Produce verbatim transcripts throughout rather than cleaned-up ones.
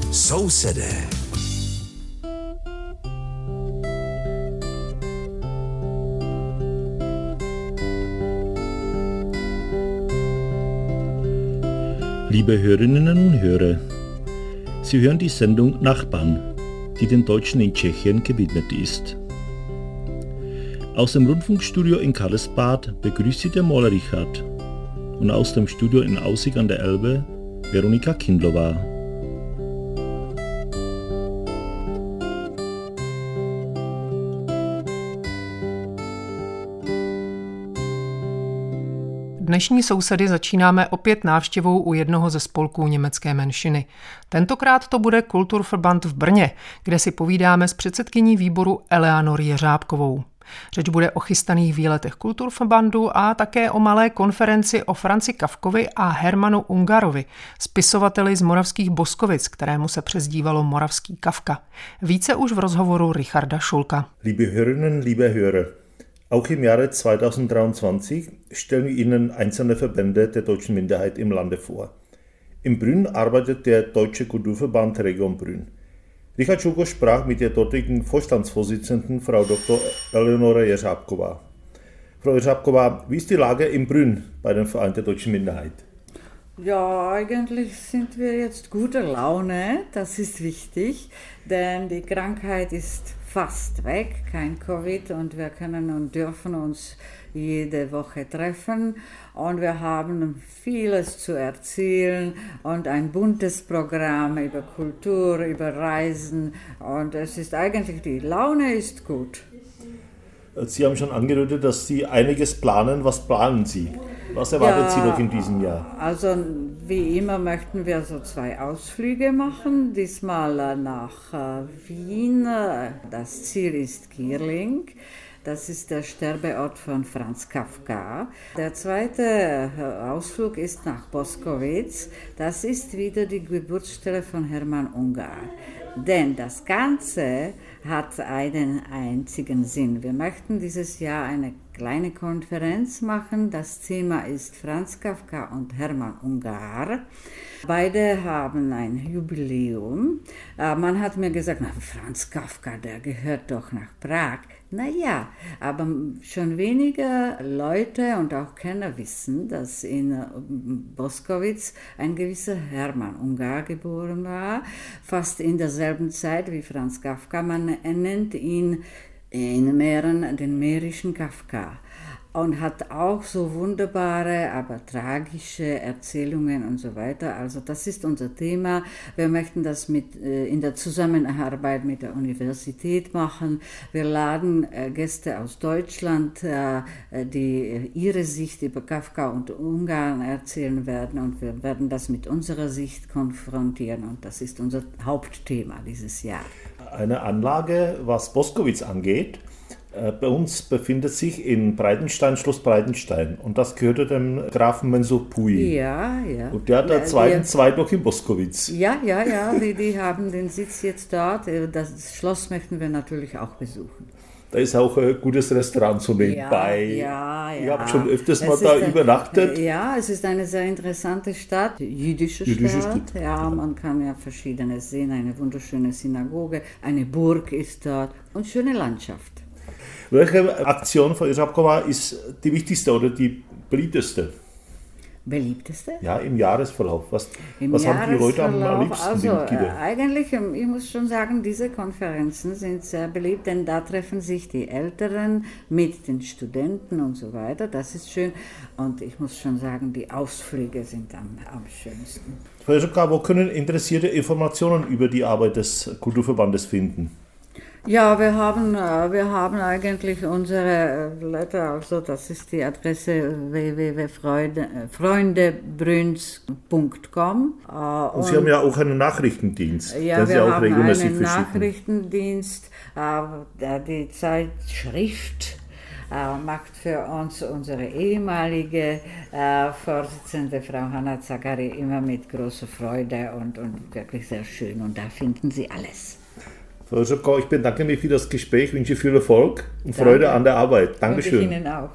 Sousedé. Liebe Hörerinnen und Hörer, Sie hören die Sendung Nachbarn, die den Deutschen in Tschechien gewidmet ist. Aus dem Rundfunkstudio in Karlsbad begrüßt Sie der Maler Richard und aus dem Studio in Aussig an der Elbe Veronika Kindlova. Dnešní sousedy začínáme opět návštěvou u jednoho ze spolků německé menšiny. Tentokrát to bude Kulturverband v Brně, kde si povídáme s předsedkyní výboru Eleanor Jeřábkovou. Řeč bude o chystaných výletech Kulturverbandu a také o malé konferenci o Franzi Kafkovi a Hermanu Ungarovi, spisovateli z moravských Boskovic, kterému se přezdívalo Moravský Kafka. Více už v rozhovoru Richarda Schulka. Liebe Hörerinnen, liebe Hörer, auch im Jahre zweitausenddreiundzwanzig stellen wir Ihnen einzelne Verbände der deutschen Minderheit im Lande vor. In Brünn arbeitet der Deutsche Kulturverband Region Brünn. Richard Schulko sprach mit der dortigen Vorstandsvorsitzenden, Frau Doktor Eleonora Jeřábková. Frau Jeřábková, wie ist die Lage in Brünn bei dem Verein der deutschen Minderheit? Ja, eigentlich sind wir jetzt guter Laune, das ist wichtig, denn die Krankheit ist fast weg, kein Covid, und wir können und dürfen uns jede Woche treffen und wir haben vieles zu erzählen und ein buntes Programm über Kultur, über Reisen, und es ist eigentlich, die Laune ist gut. Sie haben schon angedeutet, dass Sie einiges planen. Was planen Sie? Was erwartet ja, Sie noch in diesem Jahr? Also wie immer möchten wir so zwei Ausflüge machen. Diesmal nach Wien. Das Ziel ist Gierling. Das ist der Sterbeort von Franz Kafka. Der zweite Ausflug ist nach Boskowitz. Das ist wieder die Geburtsstätte von Hermann Ungar. Denn das Ganze hat einen einzigen Sinn. Wir möchten dieses Jahr eine kleine Konferenz machen. Das Thema ist Franz Kafka und Hermann Ungar. Beide haben ein Jubiläum. Man hat mir gesagt, na, Franz Kafka, der gehört doch nach Prag. Naja, aber schon weniger Leute und auch Kenner wissen, dass in Boskowitz ein gewisser Hermann Ungar geboren war, fast in derselben Zeit wie Franz Kafka. Man nennt ihn in Mähren den mährischen Kafka. Und hat auch so wunderbare, aber tragische Erzählungen und so weiter. Also das ist unser Thema. Wir möchten das mit, äh, in der Zusammenarbeit mit der Universität machen. Wir laden äh, Gäste aus Deutschland, äh, die ihre Sicht über Kafka und Ungarn erzählen werden. Und wir werden das mit unserer Sicht konfrontieren. Und das ist unser Hauptthema dieses Jahr. Eine Anlage, was Boskowitz angeht. Bei uns befindet sich in Breitenstein Schloss Breitenstein und das gehörte dem Grafen Mensur-Pui. Ja, ja. Und der hat der zweiten Zweig noch in Boskowitz. Ja, ja, ja, die, die haben den Sitz jetzt dort. Das Schloss möchten wir natürlich auch besuchen. Da ist auch ein gutes Restaurant so nebenbei. Ja, ja, ja. Ich habe schon öfters mal da ein, übernachtet. Ja, es ist eine sehr interessante Stadt, jüdische, jüdische Stadt. Stadt. Ja, man kann ja Verschiedenes sehen, eine wunderschöne Synagoge, eine Burg ist dort und schöne Landschaft. Welche Aktion von Jeřábková ist die wichtigste oder die beliebteste? Beliebteste? Ja, im Jahresverlauf. Was, was haben die Leute am liebsten? Also äh, eigentlich, ich muss schon sagen, diese Konferenzen sind sehr beliebt, denn da treffen sich die Älteren mit den Studenten und so weiter. Das ist schön. Und ich muss schon sagen, die Ausflüge sind am, am schönsten. Frau Jeřábková, wo können Interessierte Informationen über die Arbeit des Kulturverbandes finden? Ja, wir haben, wir haben eigentlich unsere Letter, also das ist die Adresse w w w punkt freundebrünns punkt com. Und, und Sie haben ja auch einen Nachrichtendienst, ja, den Sie wir auch haben regelmäßig einen verschicken. Nachrichtendienst, die Zeitschrift macht für uns unsere ehemalige äh, Vorsitzende, Frau Hanna Zagari, immer mit großer Freude und, und wirklich sehr schön. Und da finden Sie alles. Frau Jeřábková, ich bedanke mich für das Gespräch, wünsche viel Erfolg und Danke. Freude an der Arbeit. Dankeschön. Und ich Ihnen auch.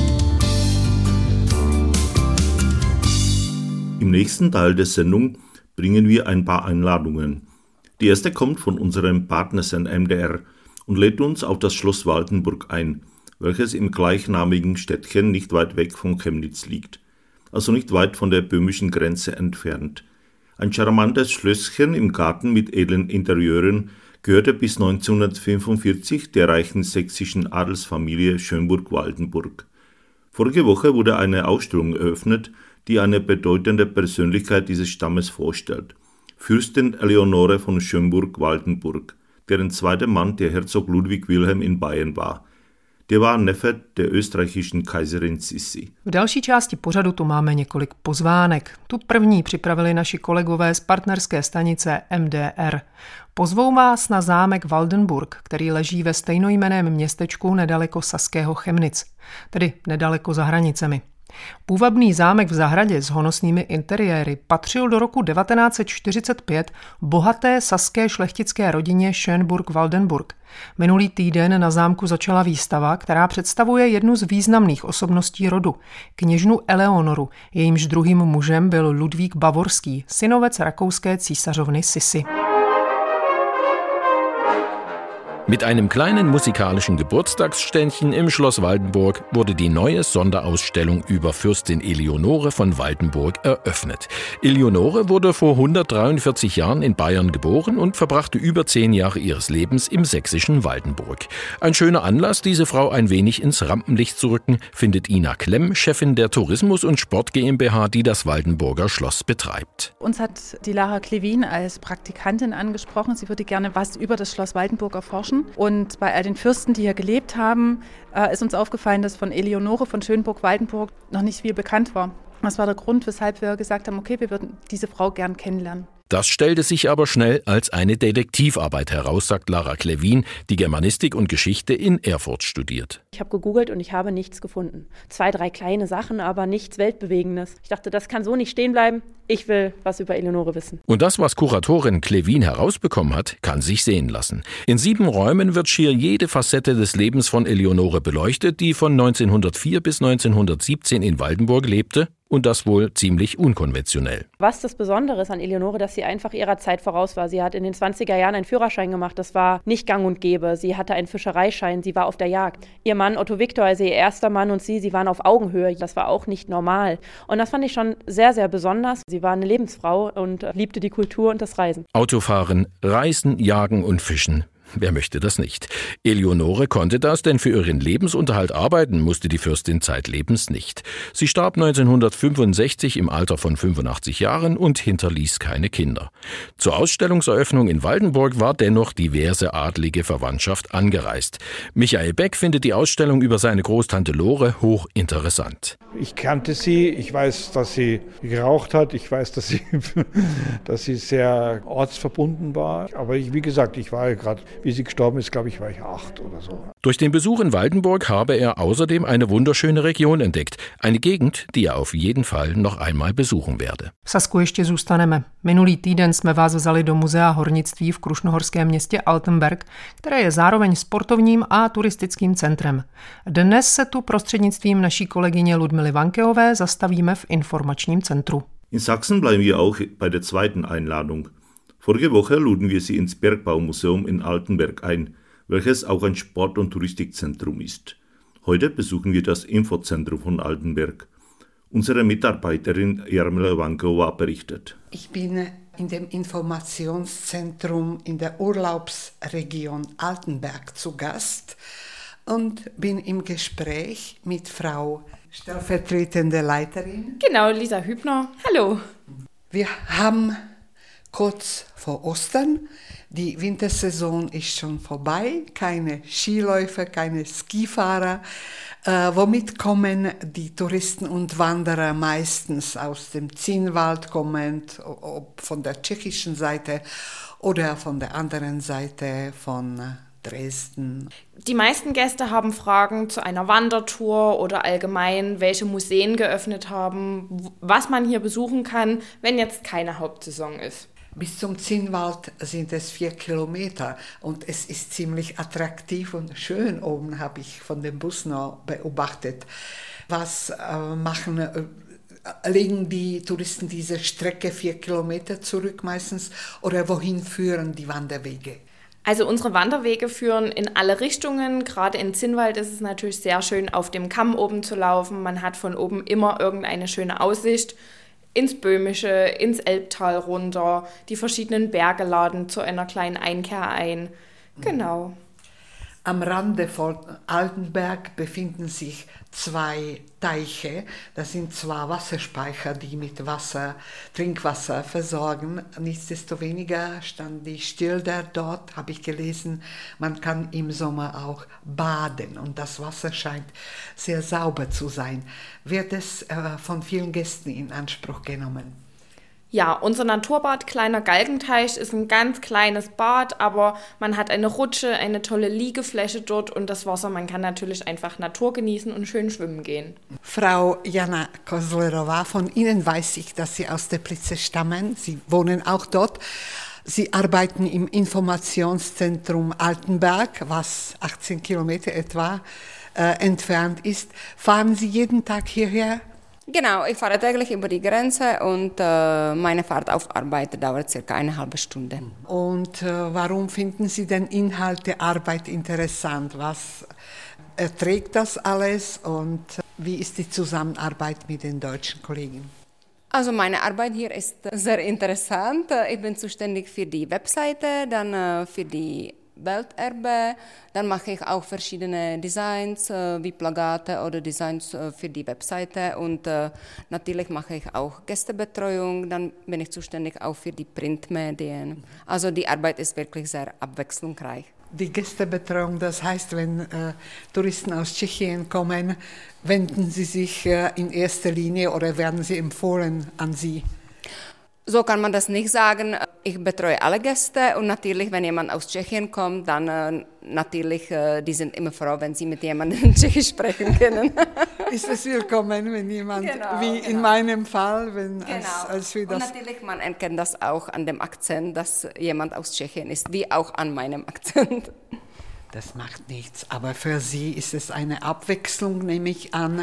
Im nächsten Teil der Sendung bringen wir ein paar Einladungen. Die erste kommt von unserem Partnersender M D R und lädt uns auf das Schloss Waldenburg ein, welches im gleichnamigen Städtchen nicht weit weg von Chemnitz liegt, also nicht weit von der böhmischen Grenze entfernt. Ein charmantes Schlösschen im Garten mit edlen Interieuren gehörte bis neunzehnhundertfünfundvierzig der reichen sächsischen Adelsfamilie Schönburg-Waldenburg. Vorige Woche wurde eine Ausstellung eröffnet, die eine bedeutende Persönlichkeit dieses Stammes vorstellt. Fürstin Eleonore von Schönburg-Waldenburg, deren zweiter Mann der Herzog Ludwig Wilhelm in Bayern war. Der war Neffe der österreichischen Kaiserin Sissi. V další části pořadu tu máme několik pozvánek. Tu první připravili naši kolegové z partnerské stanice M D R. Pozvou vás na zámek Waldenburg, který leží ve stejnojmenném městečku nedaleko saského Chemnitz, tedy nedaleko za hranicemi. Půvabný zámek v zahradě s honosnými interiéry patřil do roku devatenáct set čtyřicet pět bohaté saské šlechtické rodině Schönburg-Waldenburg. Minulý týden na zámku začala výstava, která představuje jednu z významných osobností rodu, kněžnu Eleonoru, jejímž druhým mužem byl Ludvík Bavorský, synovec rakouské císařovny Sissi. Mit einem kleinen musikalischen Geburtstagsständchen im Schloss Waldenburg wurde die neue Sonderausstellung über Fürstin Eleonore von Waldenburg eröffnet. Eleonore wurde vor hundertdreiundvierzig Jahren in Bayern geboren und verbrachte über zehn Jahre ihres Lebens im sächsischen Waldenburg. Ein schöner Anlass, diese Frau ein wenig ins Rampenlicht zu rücken, findet Ina Klemm, Chefin der Tourismus- und Sport GmbH, die das Waldenburger Schloss betreibt. Uns hat die Lara Klevin als Praktikantin angesprochen. Sie würde gerne was über das Schloss Waldenburg erforschen. Und bei all den Fürsten, die hier gelebt haben, ist uns aufgefallen, dass von Eleonore von Schönburg-Waldenburg noch nicht viel bekannt war. Das war der Grund, weshalb wir gesagt haben, okay, wir würden diese Frau gern kennenlernen. Das stellte sich aber schnell als eine Detektivarbeit heraus, sagt Lara Klevin, die Germanistik und Geschichte in Erfurt studiert. Ich habe gegoogelt und ich habe nichts gefunden. Zwei, drei kleine Sachen, aber nichts Weltbewegendes. Ich dachte, das kann so nicht stehen bleiben. Ich will was über Eleonore wissen. Und das, was Kuratorin Klevin herausbekommen hat, kann sich sehen lassen. In sieben Räumen wird schier jede Facette des Lebens von Eleonore beleuchtet, die von neunzehnhundertvier bis neunzehnhundertsiebzehn in Waldenburg lebte. Und das wohl ziemlich unkonventionell. Was das Besondere ist an Eleonore, dass sie einfach ihrer Zeit voraus war. Sie hat in den zwanziger Jahren einen Führerschein gemacht. Das war nicht gang und gäbe. Sie hatte einen Fischereischein. Sie war auf der Jagd. Ihr Mann Otto Viktor, also ihr erster Mann, und sie, sie waren auf Augenhöhe. Das war auch nicht normal. Und das fand ich schon sehr, sehr besonders. Sie war eine Lebensfrau und liebte die Kultur und das Reisen. Autofahren, Reisen, Jagen und Fischen. Wer möchte das nicht? Eleonore konnte das, denn für ihren Lebensunterhalt arbeiten musste die Fürstin zeitlebens nicht. Sie starb neunzehnhundertfünfundsechzig im Alter von fünfundachtzig Jahren und hinterließ keine Kinder. Zur Ausstellungseröffnung in Waldenburg war dennoch diverse adlige Verwandtschaft angereist. Michael Beck findet die Ausstellung über seine Großtante Lore hochinteressant. Ich kannte sie, ich weiß, dass sie geraucht hat, ich weiß, dass sie, dass sie sehr ortsverbunden war. Aber ich, wie gesagt, ich war ja gerade, wie sie gestorben ist, glaube ich, war ich acht oder so. Durch den Besuch in Waldenburg habe er außerdem eine wunderschöne Region entdeckt. Eine Gegend, die er auf jeden Fall noch einmal besuchen werde. V Sasku ještě zůstaneme. Minulý týden jsme vás vzali do muzea hornictví v krušnohorském městě Altenberg, které je zároveň sportovním a turistickým centrem. Dnes se tu prostřednictvím naší kolegyně Ludmily Vankeové zastavíme v informačním centru. In Sachsen bleiben wir auch bei der zweiten Einladung. Vorige Woche luden wir Sie ins Bergbaumuseum in Altenberg ein, welches auch ein Sport- und Touristikzentrum ist. Heute besuchen wir das Infozentrum von Altenberg. Unsere Mitarbeiterin Jarmila Vankova berichtet. Ich bin in dem Informationszentrum in der Urlaubsregion Altenberg zu Gast und bin im Gespräch mit Frau stellvertretende Leiterin. Genau, Lisa Hübner. Hallo. Wir haben kurz vor Ostern. Die Wintersaison ist schon vorbei. Keine Skiläufer, keine Skifahrer. Äh, womit kommen die Touristen und Wanderer meistens aus dem Zinnwald kommend, ob von der tschechischen Seite oder von der anderen Seite von Dresden. Die meisten Gäste haben Fragen zu einer Wandertour oder allgemein, welche Museen geöffnet haben, was man hier besuchen kann, wenn jetzt keine Hauptsaison ist. Bis zum Zinnwald sind es vier Kilometer und es ist ziemlich attraktiv und schön oben, habe ich von dem Bus noch beobachtet. Was äh, machen legen die Touristen diese Strecke vier Kilometer zurück meistens oder wohin führen die Wanderwege? Also unsere Wanderwege führen in alle Richtungen. Gerade in Zinnwald ist es natürlich sehr schön, auf dem Kamm oben zu laufen. Man hat von oben immer irgendeine schöne Aussicht ins Böhmische, ins Elbtal runter. Die verschiedenen Berge laden zu einer kleinen Einkehr ein. Genau. Am Rande von Altenberg befinden sich zwei Teiche. Das sind zwar Wasserspeicher, die mit Wasser, Trinkwasser versorgen. Nichtsdestoweniger stand die Schilder dort, habe ich gelesen. Man kann im Sommer auch baden und das Wasser scheint sehr sauber zu sein. Wird es äh, von vielen Gästen in Anspruch genommen? Ja, unser Naturbad Kleiner Galgenteich ist ein ganz kleines Bad, aber man hat eine Rutsche, eine tolle Liegefläche dort und das Wasser, man kann natürlich einfach Natur genießen und schön schwimmen gehen. Frau Jana Kozlerova, von Ihnen weiß ich, dass Sie aus Teplice stammen. Sie wohnen auch dort. Sie arbeiten im Informationszentrum Altenberg, was achtzehn Kilometer etwa äh, entfernt ist. Fahren Sie jeden Tag hierher? Genau, ich fahre täglich über die Grenze und äh, meine Fahrt auf Arbeit dauert circa eine halbe Stunde. Und äh, warum finden Sie denn Inhalt der Arbeit interessant? Was erträgt das alles und wie ist die Zusammenarbeit mit den deutschen Kollegen? Also meine Arbeit hier ist sehr interessant. Ich bin zuständig für die Webseite, dann äh, für die Welterbe, dann mache ich auch verschiedene Designs äh, wie Plakate oder Designs äh, für die Webseite und äh, natürlich mache ich auch Gästebetreuung, dann bin ich zuständig auch für die Printmedien. Also die Arbeit ist wirklich sehr abwechslungsreich. Die Gästebetreuung, das heißt, wenn äh, Touristen aus Tschechien kommen, wenden sie sich äh, in erster Linie oder werden sie empfohlen an Sie? So kann man das nicht sagen. Ich betreue alle Gäste und natürlich, wenn jemand aus Tschechien kommt, dann äh, natürlich, äh, die sind immer froh, wenn sie mit jemandem Tschechisch sprechen können. Ist es willkommen, wenn jemand, genau, wie genau. in meinem Fall, wenn genau. als, als wir das... Und natürlich, man erkennt das auch an dem Akzent, dass jemand aus Tschechien ist, wie auch an meinem Akzent. Das macht nichts, aber für Sie ist es eine Abwechslung, nehme ich an.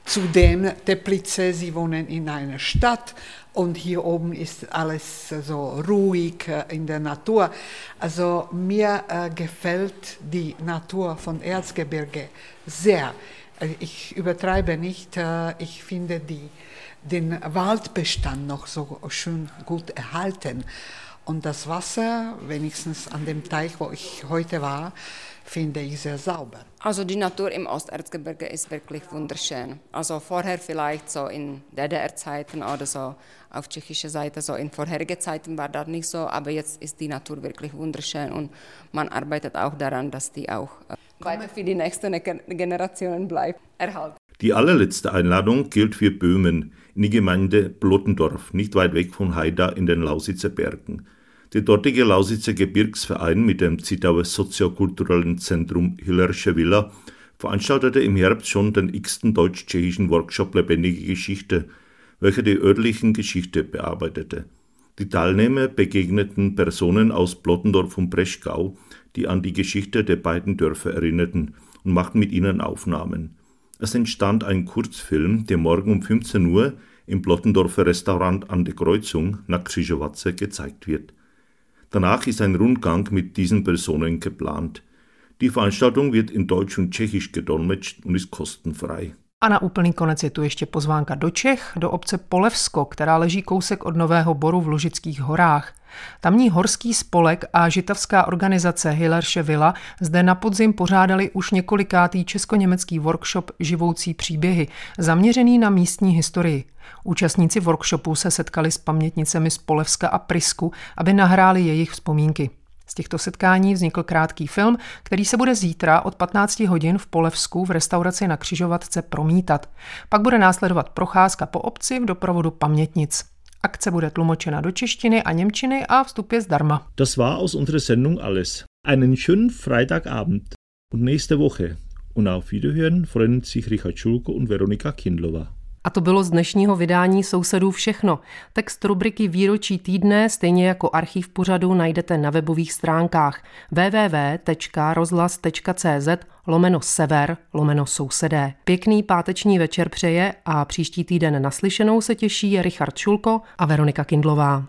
Zudem Teplice, Sie wohnen in einer Stadt und hier oben ist alles so ruhig in der Natur. Also mir äh, gefällt die Natur von Erzgebirge sehr. Ich übertreibe nicht, äh, ich finde die, den Waldbestand noch so schön gut erhalten. Und das Wasser, wenigstens an dem Teich, wo ich heute war, finde ich sehr sauber. Also die Natur im Osterzgebirge ist wirklich wunderschön. Also vorher vielleicht so in D D R-Zeiten oder so auf tschechischer Seite, so in vorherigen Zeiten war das nicht so, aber jetzt ist die Natur wirklich wunderschön und man arbeitet auch daran, dass die auch äh, weiter für die nächsten Generationen bleibt, erhalten. Die allerletzte Einladung gilt für Böhmen in die Gemeinde Blottendorf, nicht weit weg von Haida in den Lausitzer Bergen. Der dortige Lausitzer Gebirgsverein mit dem Zittauer soziokulturellen Zentrum Hillersche Villa veranstaltete im Herbst schon den x-ten deutsch-tschechischen Workshop Lebendige Geschichte, welcher die örtlichen Geschichte bearbeitete. Die Teilnehmer begegneten Personen aus Blottendorf und Breschgau, die an die Geschichte der beiden Dörfer erinnerten und machten mit ihnen Aufnahmen. Es entstand ein Kurzfilm, der morgen um fünfzehn Uhr im Blottendorfer Restaurant an der Kreuzung nach Krzyżowace gezeigt wird. Danach ist ein Rundgang mit diesen Personen geplant. Die Veranstaltung wird in Deutsch und Tschechisch gedolmetscht und ist kostenfrei. A na úplný konec je tu ještě pozvánka do Čech, do obce Polevsko, která leží kousek od Nového Boru v Lužických horách. Tamní horský spolek a žitavská organizace Hillersche Villa zde na podzim pořádali už několikátý česko-německý workshop Živoucí příběhy, zaměřený na místní historii. Účastníci workshopu se setkali s pamětnicemi z Polevska a Prisku, aby nahráli jejich vzpomínky. Z těchto setkání vznikl krátký film, který se bude zítra od patnáct hodin v Polevsku v restauraci na Křižovatce promítat. Pak bude následovat procházka po obci v doprovodu pamětnic. Akce bude tlumočena do češtiny a němčiny a vstup je zdarma. Das war aus unserer Sendung alles. Einen schönen Freitagabend und nächste Woche. Und auf Wiederhören freuen sich Richard Schulko und Veronika Kindlova. A to bylo z dnešního vydání Sousedů všechno. Text rubriky Výročí týdne, stejně jako archiv pořadu, najdete na webových stránkách w w w tečka rozhlas tečka c z lomeno sever lomeno sousedé. Pěkný páteční večer přeje a příští týden naslyšenou se těší Richard Šulko a Veronika Kindlová.